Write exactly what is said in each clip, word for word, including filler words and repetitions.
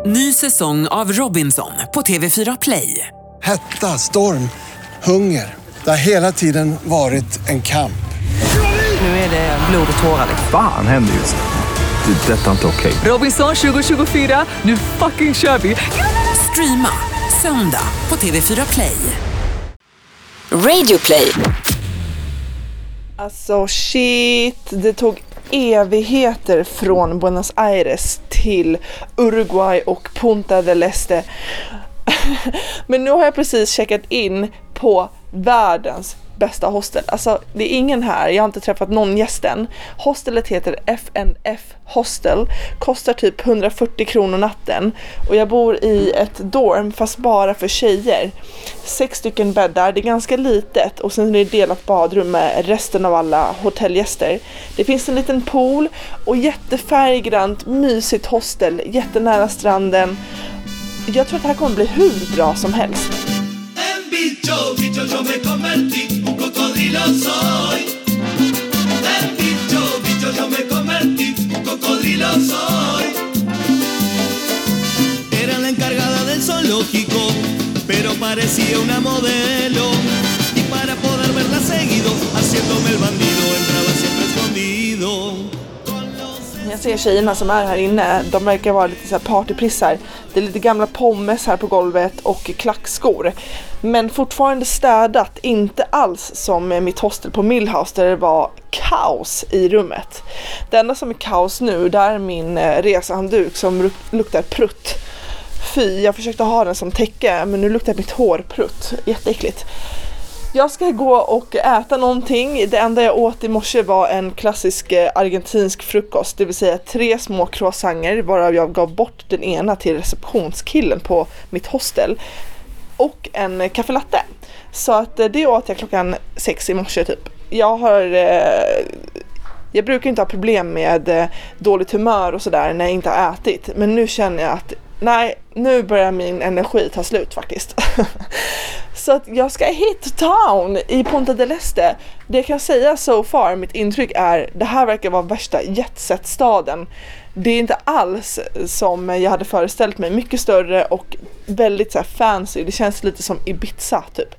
Ny säsong av Robinson på T V fyra Play. Hetta, storm, hunger. Det har hela tiden varit en kamp. Nu är det blod och tårar. Fan händer just det. Det är detta inte okej. Robinson tjugo tjugofyra, nu fucking kör vi. Streama söndag på T V fyra Play. Radio Play. Alltså shit, det tog evigheter från Buenos Aires till Uruguay och Punta del Este. Men nu har jag precis checkat in på världens bästa hostel. Alltså det är ingen här, jag har inte träffat någon gäst än. Hostelet heter F and F Hostel, kostar typ hundrafyrtio kronor natten. Och jag bor i ett dorm fast bara för tjejer. Sex stycken bäddar, det är ganska litet. Och sen är det delat badrum med resten av alla hotellgäster. Det finns en liten pool och jättefärggrant, mysigt hostel, jättenära stranden. Jag tror att det här kommer bli hur bra som helst. Bicho, bicho, yo me convertí, un cocodrilo soy. El bicho, bicho, yo me convertí, un cocodrilo soy. Era la encargada del zoológico, pero parecía una modelo. Y para poder verla seguido, haciéndome el bandido, entraba siempre escondido. Jag ser tjejerna som är här inne, de verkar vara lite så här partyprissar. Det är lite gamla pommes här på golvet och klackskor. Men fortfarande städat, inte alls som mitt hostel på Millhouse där det var kaos i rummet. Det enda som är kaos nu, där är min resehandduk som luktar prutt. Fy, jag försökte ha den som täcke men nu luktar mitt hår prutt. Jätteäckligt. Jag ska gå och äta någonting. Det enda jag åt i morse var en klassisk argentinsk frukost. Det vill säga tre små croissanter, varav jag gav bort den ena till receptionskillen på mitt hostel. Och en kaffelatte. Så att det åt jag klockan sex i morse typ. Jag har... Jag brukar inte ha problem med dåligt humör och sådär när jag inte har ätit. Men nu känner jag att nej, nu börjar min energi ta slut faktiskt. Så att jag ska hit town i Punta del Este. Det jag kan säga so far, mitt intryck är det här verkar vara värsta jetset-staden. Det är inte alls som jag hade föreställt mig. Mycket större och väldigt så här fancy. Det känns lite som Ibiza typ.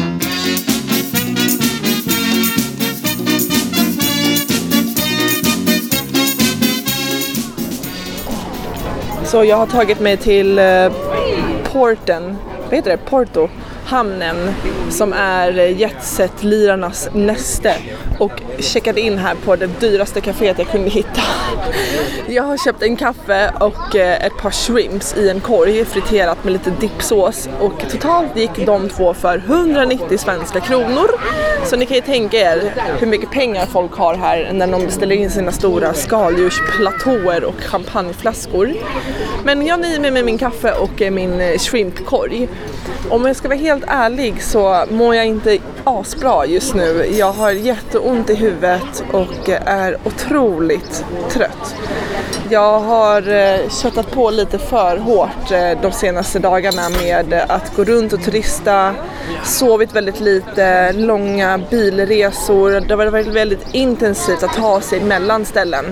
Så jag har tagit mig till eh, porten, vad heter det? Porto, hamnen som är jetset-lirarnas näste och checkade in här på det dyraste kaféet jag kunde hitta. Jag har köpt en kaffe och eh, ett par shrimps i en korg friterat med lite dipsås och totalt gick de två för hundranittio svenska kronor. Så ni kan ju tänka er hur mycket pengar folk har här när de beställer in sina stora skaldjursplatåer och champagneflaskor. Men jag nöjer mig med min kaffe och min shrimpkorg. Om jag ska vara helt ärlig så mår jag inte asbra just nu. Jag har jätteont i huvudet och är otroligt trött. Jag har eh, köttat på lite för hårt eh, de senaste dagarna med att gå runt och turista, sovit väldigt lite, långa bilresor. Det har varit väldigt intensivt att ta sig mellan ställen.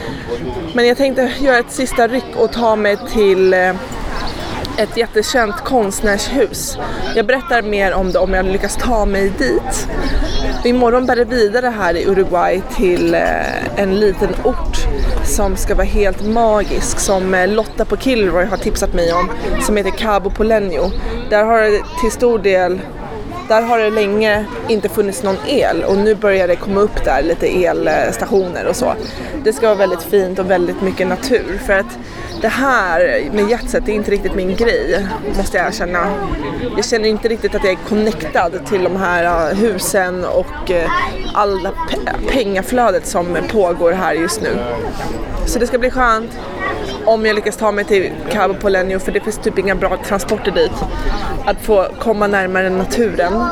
Men jag tänkte göra ett sista ryck och ta mig till eh, ett jättekänt konstnärshus. Jag berättar mer om det om jag lyckas ta mig dit. Imorgon bär det vidare här i Uruguay till eh, en liten ort som ska vara helt magisk, som Lotta på Kilroy har tipsat mig om, som heter Cabo Polonio. Där har det till stor del Där har det länge inte funnits någon el och nu börjar det komma upp där lite elstationer och så. Det ska vara väldigt fint och väldigt mycket natur, för att det här med jetset är inte riktigt min grej, måste jag erkänna. Jag känner inte riktigt att jag är connectad till de här husen och alla pe- pengaflödet som pågår här just nu. Så det ska bli skönt om jag lyckas ta mig till Cabo Polonio, för det finns typ inga bra transporter dit. Att få komma närmare naturen.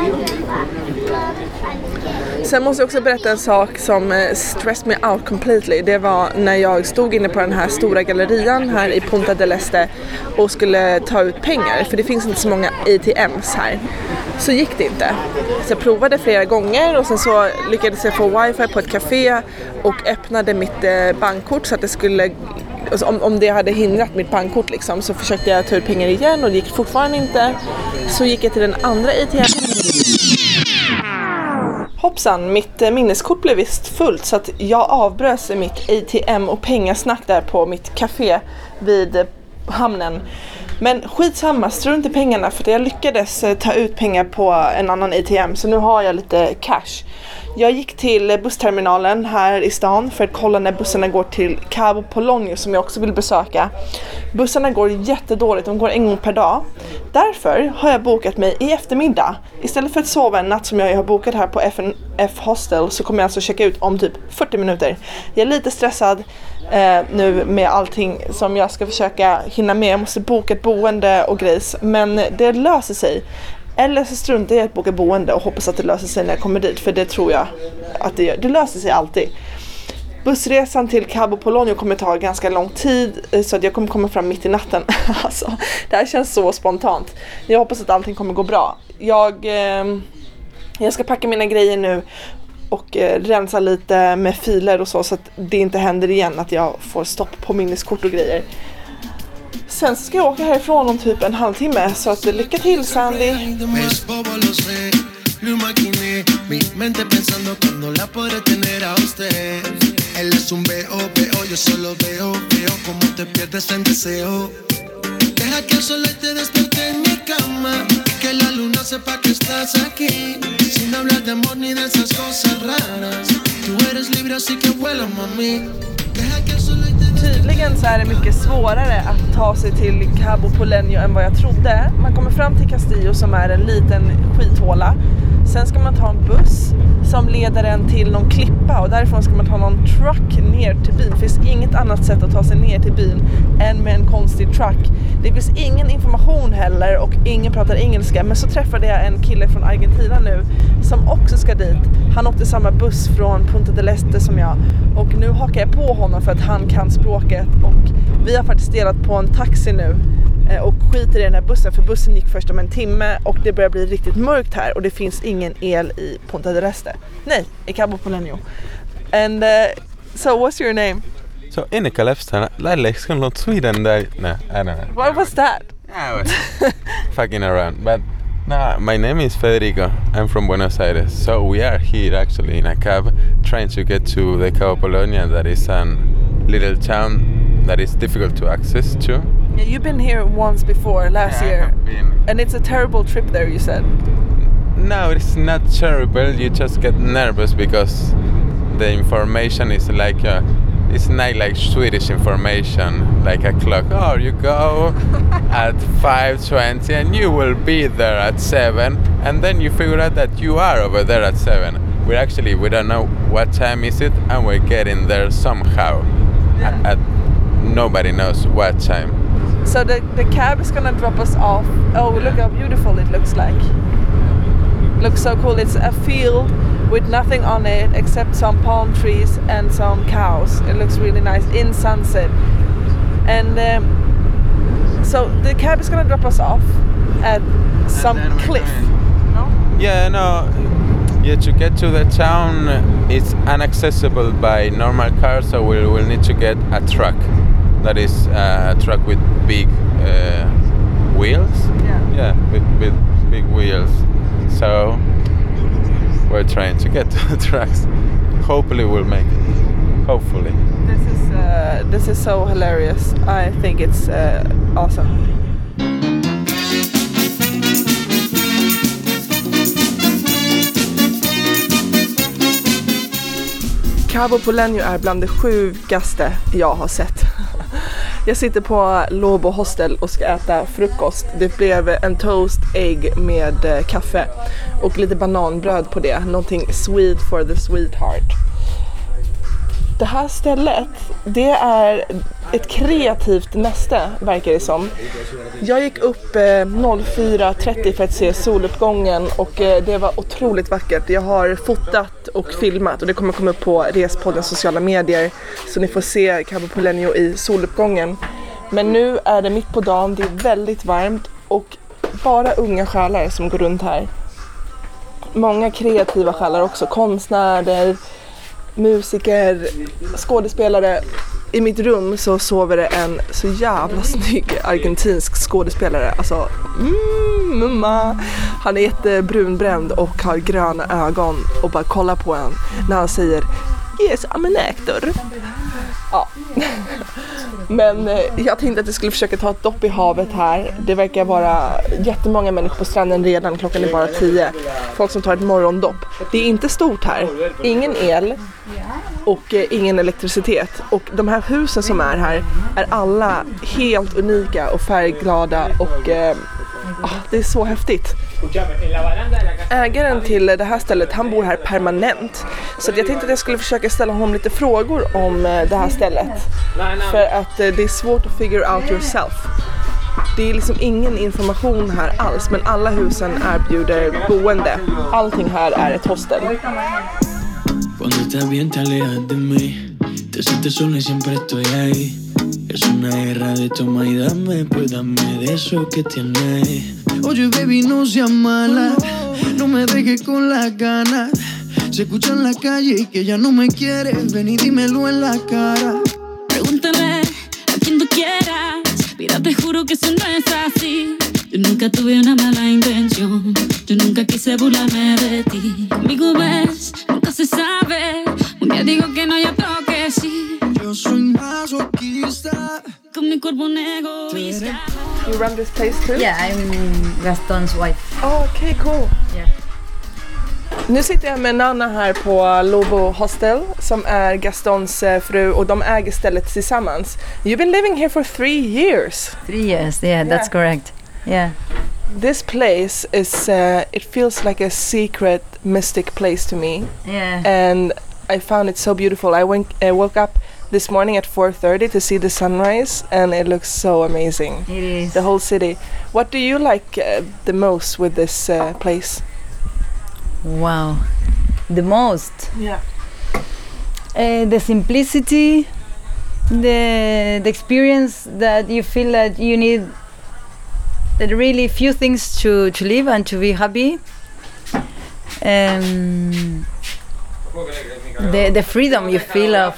Sen måste jag också berätta en sak som stressed me out completely. Det var när jag stod inne på den här stora gallerian här i Punta del Este och skulle ta ut pengar, för det finns inte så många A T Ms här. Så gick det inte. Så jag provade flera gånger och sen så lyckades jag få wifi på ett café och öppnade mitt bankkort så att det skulle alltså om, om det hade hindrat mitt bankkort liksom, så försökte jag ta ut pengar igen och det gick fortfarande inte. Så gick jag till den andra A T M. Hoppsan, mitt minneskort blev visst fullt så att jag avbröt mitt A T M och pengasnack där på mitt café vid hamnen. Men skitsamma, strunt i pengarna för jag lyckades ta ut pengar på en annan A T M så nu har jag lite cash. Jag gick till bussterminalen här i stan för att kolla när bussarna går till Cabo Polonio som jag också vill besöka. Bussarna går jättedåligt, de går en gång per dag. Därför har jag bokat mig i eftermiddag. Istället för att sova en natt som jag har bokat här på F N F Hostel så kommer jag alltså checka ut om typ fyrtio minuter. Jag är lite stressad eh, nu med allting som jag ska försöka hinna med. Jag måste boka ett boende och grejs, men det löser sig. Eller så struntar jag att boka boende och hoppas att det löser sig när jag kommer dit. För det tror jag att det gör. Det löser sig alltid. Bussresan till Cabo Polonio kommer ta ganska lång tid. Så att jag kommer komma fram mitt i natten. Alltså, det här känns så spontant. Jag hoppas att allting kommer gå bra. Jag, eh, jag ska packa mina grejer nu. Och eh, rensa lite med filer och så. Så att det inte händer igen att jag får stopp på minneskort och grejer. Sen ska jag åka härifrån om typ en halvtimme. Så att lycka till, Sandy. Tydligen så är det mycket svårare att ta sig till Cabo Polonio än vad jag trodde. Man kommer fram till Castillo som är en liten skithåla. Sen ska man ta en buss som leder en till någon klippa och därifrån ska man ta någon truck ner till byn. Det finns inget annat sätt att ta sig ner till byn än med en konstig truck. Det finns ingen information heller och ingen pratar engelska. Men så träffade jag en kille från Argentina nu som också ska dit. Han åkte samma buss från Punta del Este som jag. Och nu hakar jag på honom för att han kan språket. Och vi har faktiskt delat på en taxi nu. Och skiter i den här bussen för bussen gick först om en timme och det börjar bli riktigt mörkt här och det finns ingen el i Punta del Este. Nej, i Cabo Polonio. And uh, so what's your name? So Innika Lefstan, lähdekö not Sweden there? No, I don't know. What was that? I was fucking around. But no, my name is Federico. I'm from Buenos Aires. So we are here actually in a cab trying to get to the Cabo Polonio, that is a little town that is difficult to access to. Yeah, you've been here once before, last Yeah, I year. have been. And it's a terrible trip there, you said. No, it's not terrible. You just get nervous because the information is like a, it's not like Swedish information, like a clock. Oh, you go at five twenty and you will be there at seven, and then you figure out that you are over there at seven. We're actually, we don't know what time is it, and we're getting there somehow. Yeah. At, at nobody knows what time. So the, the cab is gonna drop us off. Oh, look how beautiful it looks like. Looks so cool. It's a field with nothing on it except some palm trees and some cows. It looks really nice in sunset. And um, so the cab is gonna drop us off at some cliff. No? Yeah, no. Yeah, to get to the town, it's inaccessible by normal cars, so we'll, we'll need to get a truck. That is uh, a truck with big uh, wheels. Yeah. Yeah, with, with big wheels. So we're trying to get to the trucks. Hopefully we'll make it. Hopefully. This is uh, this is so hilarious. I think it's uh, awesome. Cabo Polonio är bland det sjukaste jag har sett. Jag sitter på Lobo Hostel och ska äta frukost. Det blev en toast egg med kaffe och lite bananbröd på det. Någonting sweet for the sweetheart. Det här stället, det är ett kreativt näste, verkar det som. Jag gick upp eh, fyra trettio för att se soluppgången och eh, det var otroligt vackert. Jag har fotat och filmat och det kommer komma upp på Respoddens sociala medier så ni får se Cabo Polonio i soluppgången. Men nu är det mitt på dagen, det är väldigt varmt och bara unga själar som går runt här. Många kreativa själar också, konstnärer, musiker, skådespelare. i mitt rum så sover det en så jävla snygg argentinsk skådespelare. Alltså, mm, mumma. Han är jättebrunbränd och har gröna ögon och bara kollar på en när han säger yes, I'm an actor. Ja. Men eh, jag tänkte att jag skulle försöka ta ett dopp i havet här. Det verkar vara jättemånga människor på stranden redan. Klockan är bara tio. Folk som tar ett morgondopp. Det är inte stort här. Ingen el och eh, ingen elektricitet. Och de här husen som är här är alla helt unika och färgglada. Och eh, ah, det är så häftigt. Ägaren till det här stället, han bor här permanent. Så jag tänkte att jag skulle försöka ställa honom lite frågor om det här stället. För att det är svårt att figure out yourself. Det är liksom ingen information här alls, men alla husen erbjuder boende. Allting här är ett hostel. Cuando estás bien te alejas de mí. Te sientes sola y siempre estoy ahí. Es una guerra de toma y dame, pues dame de eso que tienes. Oye baby, no seas mala, no me dejes con las ganas. Se escucha en la calle y que ya no me quieres, ven y dímelo en la cara. Pregúntale a quien tú quieras, mira te juro que eso no es así. Yo nunca tuve una mala intención, yo nunca quise burlarme de ti. Conmigo ves, nunca se sabe, un día digo que no, ya toque sí. Yo soy masoquista. Con mi cuerpo un egoísta. You run this place too? Yeah, I'm Gaston's wife. Oh, okay, cool. Yeah. Nu sitter jag med Nana här på Lobo Hostel som är Gastons eh, fru och de äger stället tillsammans. You've been living here for three years. Three years, yeah, that's Yeah. correct. Yeah. This place is, uh, it feels like a secret, mystic place to me. Yeah. And I found it so beautiful. I went, I woke up this morning at four thirty to see the sunrise and it looks so amazing. It is. The whole city. What do you like uh, the most with this uh, place? Wow. The most. Yeah. Uh, the simplicity, the the experience that you feel that you need that really few things to, to live and to be happy. Um, the the freedom you feel of.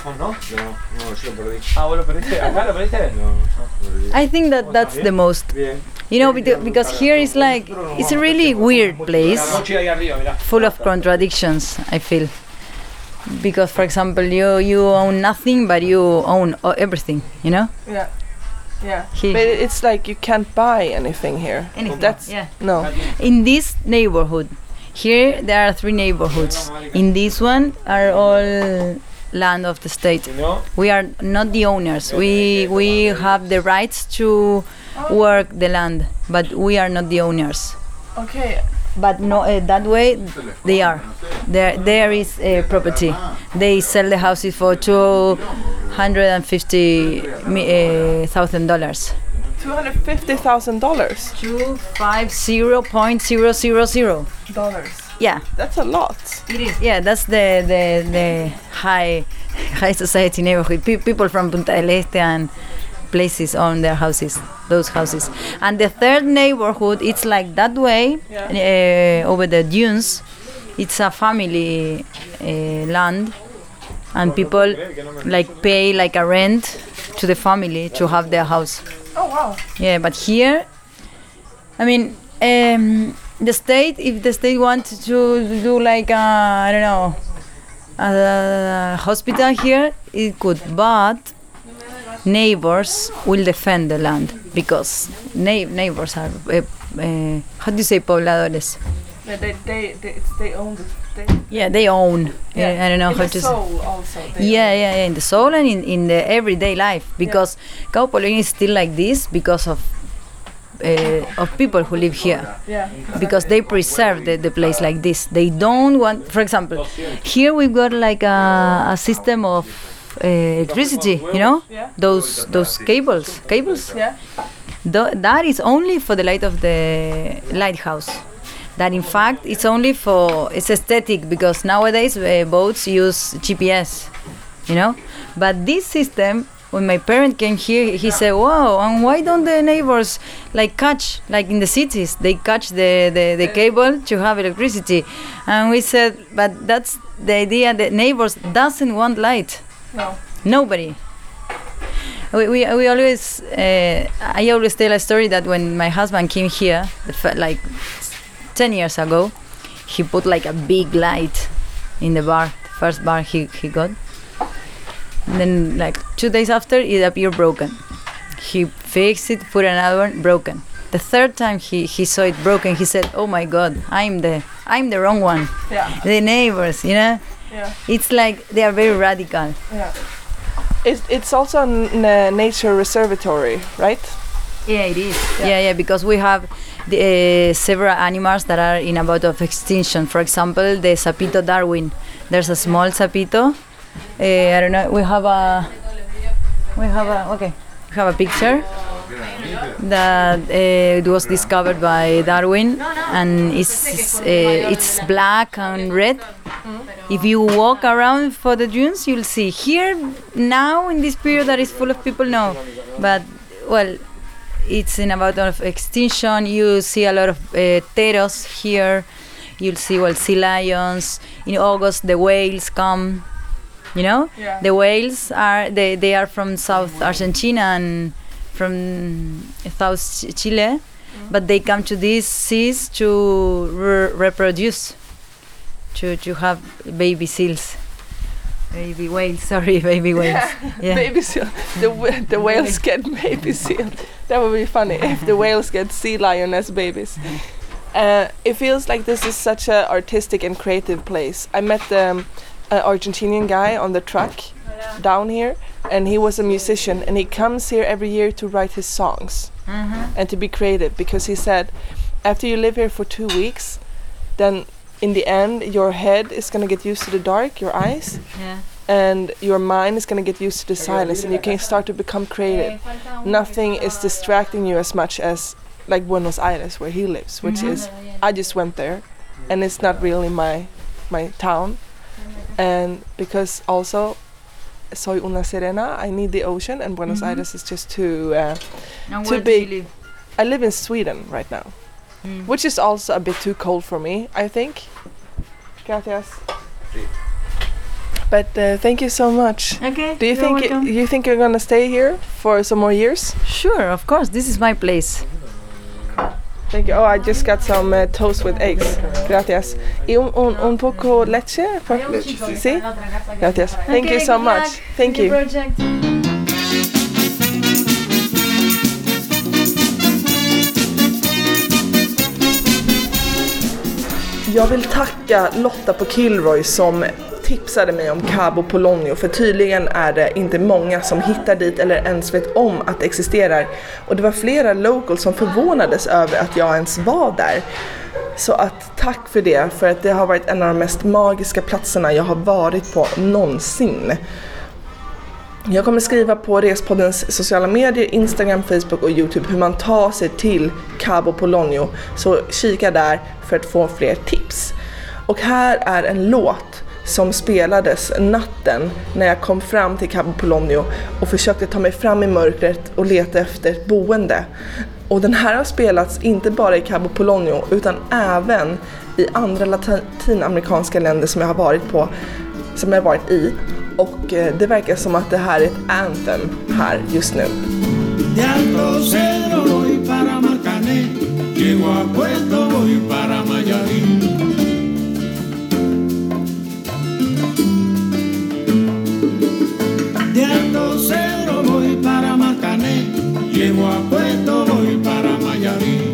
I think that that's the most. You know, because, because here is like, it's a really weird place, full of contradictions, I feel. Because, for example, you, you own nothing, but you own uh, everything, you know? Yeah. Yeah. He- But it's like you can't buy anything here. Anything, That's yeah. no. In this neighborhood, here there are three neighborhoods. In this one are all land of the state. We are not the owners. We we have the rights to work the land, but we are not the owners. Okay. But no, uh, that way they are. There, there is a property. They sell the houses for two hundred and fifty thousand dollars. Two hundred fifty thousand dollars. Two five zero point zero zero zero. Dollars. Yeah, That's a lot. it is. Yeah, that's the the, the high high society neighborhood. Pe- people from Punta del Este and places own their houses, those houses. And the third neighborhood, it's like that way, uh, over the dunes. It's a family uh, land, and people like pay like a rent to the family to have their house. Oh wow. Yeah, but here, I mean, um, the state, if the state wanted to do like a, I don't know, a hospital here, it could, but neighbors will defend the land because na- neighbors are, uh, uh, how do you say, pobladores? Yeah, they they they, it's, they own the they, Yeah, they own. yeah. I don't know in how the to say. soul also. They Yeah, yeah, yeah, in the soul and in, in the everyday life, because Cabo Polonio is still like this because of uh, of people who live here, Yeah. because they preserve the, the place like this. They don't want, for example, here we've got like a, a system of uh, electricity, you know, Yeah. those those cables, cables. Yeah. Tho- that is only for the light of the lighthouse. That in fact it's only for, it's aesthetic because nowadays uh, boats use G P S, you know. But this system, when my parent came here, he said, "Wow, and why don't the neighbors like catch, like in the cities, they catch the, the, the cable to have electricity?" And we said, "But that's the idea. The neighbors doesn't want light. No. Nobody. we we, we always uh, I always tell a story that when my husband came here, the f- like ten years ago, he put like a big light in the bar, the first bar he he got. And then like two days after, it appeared broken. He fixed it, put another one, broken. The third time he, he saw it broken, he said, "Oh my God, I'm the I'm the wrong one." Yeah. The neighbors, you know. Yeah. It's like they are very radical. Yeah. It's it's also a n- a nature reservatory, right? Yeah, it is. Yeah, yeah, yeah, because we have the, uh, several animals that are in about of extinction. For example, the sapito Darwin. There's a small sapito. Uh, I don't know. We have a. We have a. Okay. We have a picture that uh, it was discovered by Darwin, and it's uh, it's black and red. If you walk around for the dunes, you'll see here now in this period that is full of people. No, but well, it's in about of extinction. You see a lot of uh, teros here. You'll see well sea lions. In August, the whales come. You know, Yeah. the whales are they, they are from South Argentina and from South Ch- Chile, but they come to these seas to re- reproduce, to to have baby seals, baby whales. Sorry, baby whales. Yeah. Baby seal. The wh- the whales get baby seal. That would be funny if the whales get sea lion as babies. Uh, it feels like this is such an artistic and creative place. I met um, an Argentinian guy on the truck down here, and he was a musician, and he comes here every year to write his songs and to be creative, because he said after you live here for two weeks, then in the end your head is going to get used to the dark, your eyes, Yeah. and your mind is going to get used to the silence, and you can start to become creative. Nothing is distracting you as much as like Buenos Aires, where he lives, which is I just went there, and it's not really my my town. And because also soy una sirena, I need the ocean, and Buenos Mhm. Aires is just too uh, And too where do big. you live? I live in Sweden right now, Mm. which is also a bit too cold for me, I think. Gracias. But uh, thank you so much. Okay. Do you you're think welcome. you think you're gonna stay here for some more years? Sure, of course. This is my place. Thank you. Oh, I just got some uh, toast with eggs. Gracias. Y un, un, un poco leche? por- Sí? Gracias. Thank Okay, you so good much. luck Thank with you. the project. Jag vill tacka Lotta på Kilroy som tipsade mig om Cabo Polonio, för tydligen är det inte många som hittar dit eller ens vet om att det existerar. Och det var flera locals som förvånades över att jag ens var där. Så att tack för det, för att det har varit en av de mest magiska platserna jag har varit på någonsin. Jag kommer skriva på Respoddens sociala medier, Instagram, Facebook och YouTube hur man tar sig till Cabo Polonio. Så kika där för att få fler tips. Och här är en låt som spelades natten när jag kom fram till Cabo Polonio och försökte ta mig fram i mörkret och leta efter ett boende. Och den här har spelats inte bara i Cabo Polonio utan även i andra latinamerikanska länder som jag har varit på, som jag har varit i. Och eh, det verkar som att det här är ett anthem här just nu. De Alto Cedro voy para Marcané, llego a Puerto voy para Mayarín. De Alto Cedro voy para Marcané, llego a Puerto voy para Mayarín.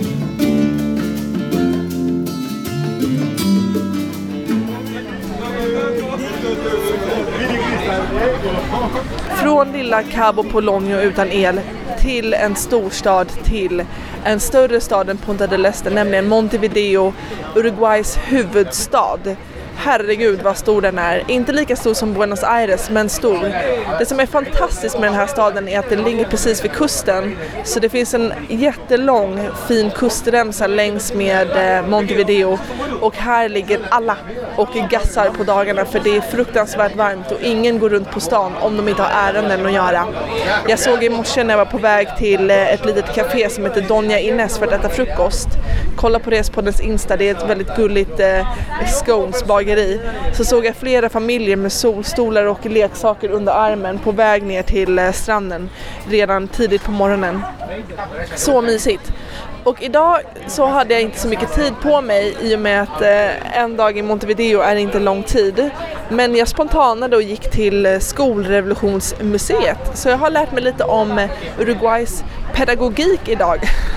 Från lilla Cabo Polonio utan el till en storstad, till en större stad än Punta del Este, nämligen Montevideo, Uruguays huvudstad. Herregud vad stor den är. Inte lika stor som Buenos Aires, men stor. Det som är fantastiskt med den här staden är att den ligger precis vid kusten. Så det finns en jättelång fin kustremsa längs med eh, Montevideo. Och här ligger alla och gassar på dagarna, för det är fruktansvärt varmt och ingen går runt på stan om de inte har ärenden att göra. Jag såg i morse när jag var på väg till eh, ett litet café som heter Doña Inés för att äta frukost. Kolla på Respoddens Insta, det är ett väldigt gulligt eh, scones bar bageri så såg jag flera familjer med solstolar och leksaker under armen på väg ner till eh, stranden redan tidigt på morgonen. Så mysigt. Och idag så hade jag inte så mycket tid på mig i och med att eh, en dag i Montevideo är inte lång tid. Men jag spontanade och gick till Skolrevolutionsmuseet. Så jag har lärt mig lite om Uruguays pedagogik idag.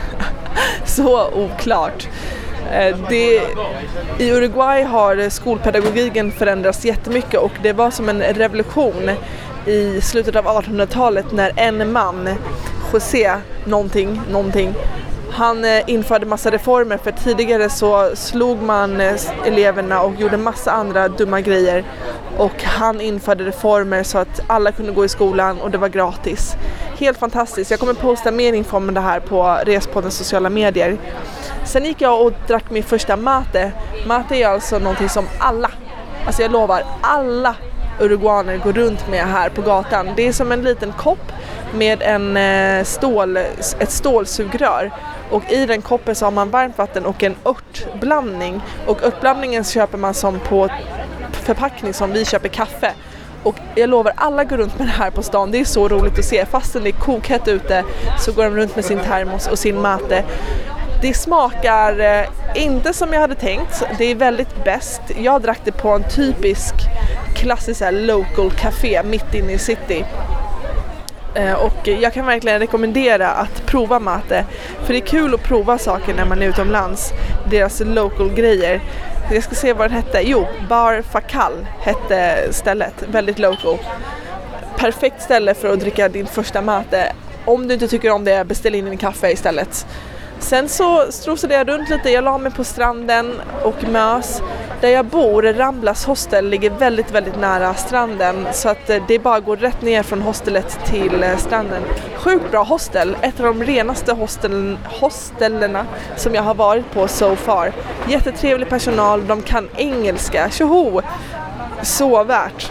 Så oklart. Eh, det, I Uruguay har skolpedagogiken förändrats jättemycket och det var som en revolution i slutet av artonhundratalet när en man, José någonting, någonting, han införde massa reformer för tidigare så slog man eleverna och gjorde massa andra dumma grejer. Och han införde reformer så att alla kunde gå i skolan och det var gratis. Helt fantastiskt. Jag kommer posta mer info om det här på Respoddens sociala medier. Sen gick jag och drack min första mate. Mate är alltså någonting som alla, alltså jag lovar, alla uruguaner går runt med här på gatan. Det är som en liten kopp med en stål, ett stålsugrör. Och i den koppen så har man varmt vatten och en örtblandning. Och örtblandningen köper man som på förpackning som vi köper kaffe. Och jag lovar, alla går runt med det här på stan. Det är så roligt att se. Fastän det är kokhett ute så går de runt med sin termos och sin mate. Det smakar eh, inte som jag hade tänkt. Det är väldigt bäst. Jag drack det på en typisk klassisk här, local café mitt inne i city. Och jag kan verkligen rekommendera att prova mate. För det är kul att prova saker när man är utomlands. Deras local grejer. Jag ska se vad den hette. Jo, Bar Facal hette stället. Väldigt local. Perfekt ställe för att dricka din första mate. Om du inte tycker om det, beställ in en kaffe istället. Sen så strosade jag runt lite. Jag la mig på stranden och mös. Där jag bor, Ramblas hostel, ligger väldigt, väldigt nära stranden. Så att det bara går rätt ner från hostelet till stranden. Sjukt bra hostel. Ett av de renaste hostelen, hostellerna som jag har varit på so far. Jättetrevlig personal, de kan engelska. Tjoho! Så värt.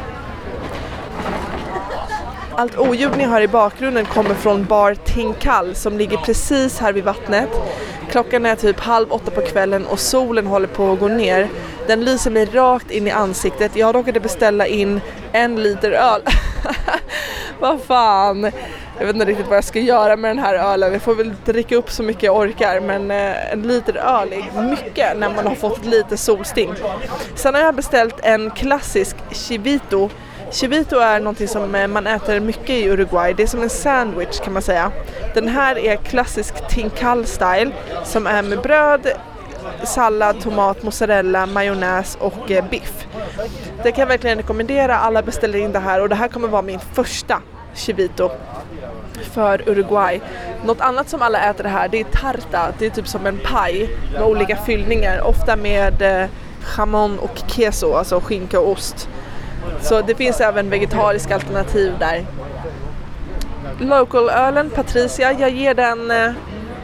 Allt oljud ni hör i bakgrunden kommer från Bar Tincal som ligger precis här vid vattnet. Klockan är typ halv åtta på kvällen och solen håller på att gå ner. Den lyser mig rakt in i ansiktet. Jag råkade beställa in en liter öl. Vad fan. Jag vet inte riktigt vad jag ska göra med den här ölen. Jag får väl dricka upp så mycket jag orkar. Men eh, en liter öl är mycket när man har fått lite solsting. Sen har jag beställt en klassisk chivito. Chivito är någonting som man äter mycket i Uruguay. Det är som en sandwich kan man säga. Den här är klassisk Tincal style som är med bröd, sallad, tomat, mozzarella, majonnäs och eh, biff. Det kan jag verkligen rekommendera. Alla beställer in det här och det här kommer vara min första chivito för Uruguay. Något annat som alla äter det här, det är tarta. Det är typ som en paj med olika fyllningar. Ofta med eh, jamon och queso, alltså skinka och ost. Så det finns även vegetariska alternativ där. Local-ölen, Patricia, jag ger den mm,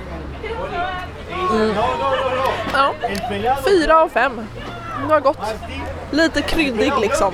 ja, fyra av fem. Det var gott. Lite kryddig liksom.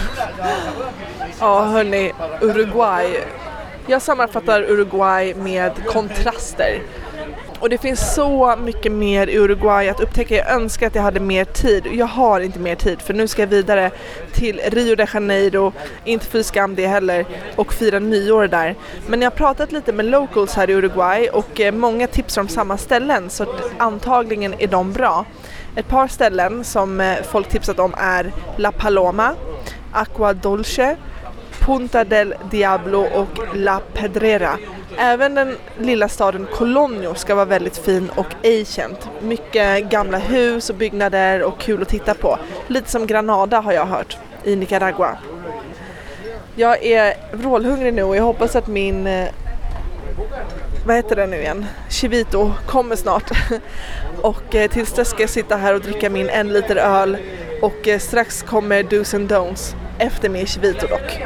Ja hörni, Uruguay. Jag sammanfattar Uruguay med kontraster. Och det finns så mycket mer i Uruguay att upptäcka. Jag önskar att jag hade mer tid. Jag har inte mer tid för nu ska jag vidare till Rio de Janeiro. Inte för skam det heller. Och fira nyår där. Men jag har pratat lite med locals här i Uruguay. Och många tipsar om samma ställen. Så antagligen är de bra. Ett par ställen som folk tipsat om är La Paloma, Aqua Dolce, Punta del Diablo och La Pedrera. Även den lilla staden Colonio ska vara väldigt fin och ej känd. Mycket gamla hus och byggnader och kul att titta på. Lite som Granada har jag hört i Nicaragua. Jag är vrålhungrig nu och jag hoppas att min, vad heter det nu igen? Chivito kommer snart. Och tills dess ska jag sitta här och dricka min en liter öl. Och strax kommer Do's and Don'ts efter min chivito dock.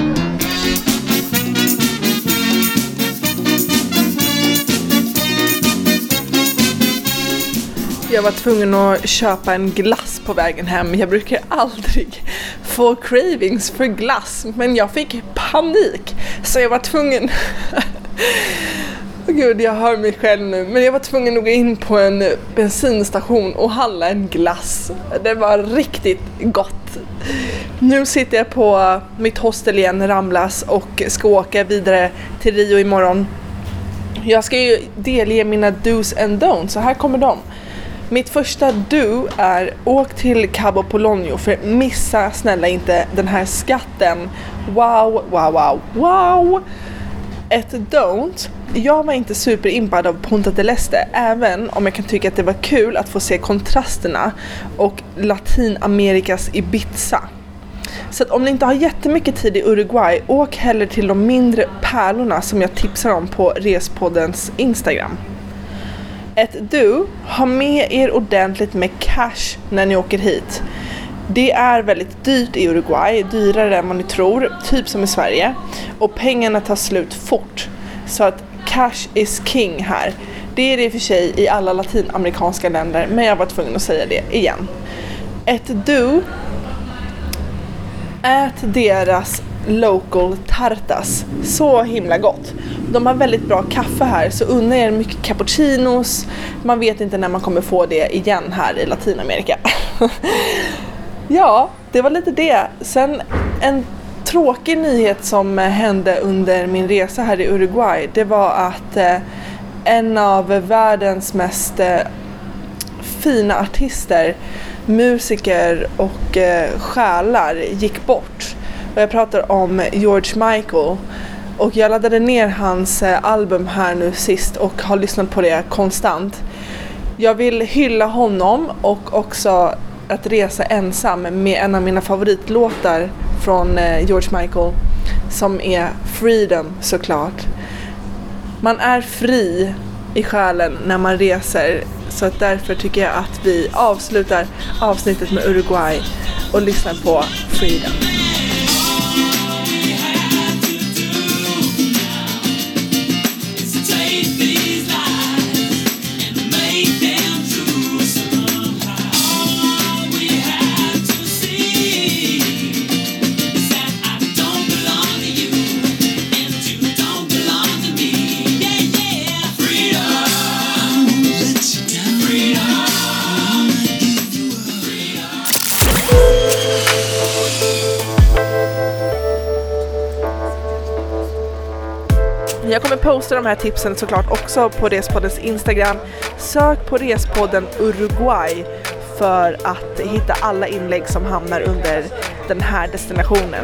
Jag var tvungen att köpa en glass på vägen hem. Jag brukar aldrig få cravings för glass. Men jag fick panik. Så jag var tvungen Gud, jag hör mig själv nu. Men jag var tvungen att gå in på en bensinstation och handla en glass. Det var riktigt gott. Nu sitter jag på mitt hostel igen, Ramblas, och ska åka vidare till Rio imorgon. Jag ska ju delge mina do's and don'ts, så här kommer de. Mitt första do är åk till Cabo Polonio, för missa snälla inte den här skatten. Wow, wow, wow, wow. Ett don't. Jag var inte superimpad av Punta del Este, även om jag kan tycka att det var kul att få se kontrasterna och Latinamerikas Ibiza. Så att om ni inte har jättemycket tid i Uruguay, åk hellre till de mindre pärlorna som jag tipsar om på Respoddens Instagram. Ett do, ha med er ordentligt med cash när ni åker hit. Det är väldigt dyrt i Uruguay, dyrare än vad ni tror, typ som i Sverige. Och pengarna tar slut fort. Så att cash is king här. Det är det i och för sig i alla latinamerikanska länder, men jag var tvungen att säga det igen. Ett do, ät deras local tartas. Så himla gott. De har väldigt bra kaffe här, så unna er mycket cappuccinos. Man vet inte när man kommer få det igen här i Latinamerika. Ja, det var lite det. Sen en tråkig nyhet som hände under min resa här i Uruguay, det var att eh, en av världens mest eh, fina artister, musiker och eh, själar gick bort. Och jag pratar om George Michael. Och jag laddade ner hans eh, album här nu sist och har lyssnat på det konstant. Jag vill hylla honom och också att resa ensam med en av mina favoritlåtar från eh, George Michael, som är Freedom, såklart. Man är fri i själen när man reser, så att därför tycker jag att vi avslutar avsnittet med Uruguay och lyssnar på Freedom. Jag kommer posta de här tipsen såklart också på Respoddens Instagram. Sök på Respodden Uruguay för att hitta alla inlägg som hamnar under den här destinationen.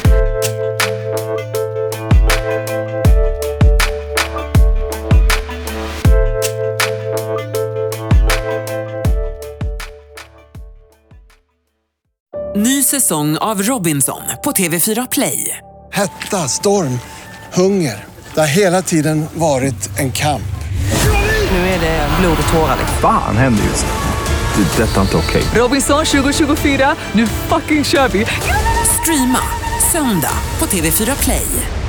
Ny säsong av Robinson på T V fyra Play. Hetta, storm, hunger. Det har hela tiden varit en kamp. Nu är det blod och tårar. Fan händer just det. Det är detta inte okej. Robinson tjugo tjugofyra, nu fucking kör vi. Streama söndag på T V fyra Play.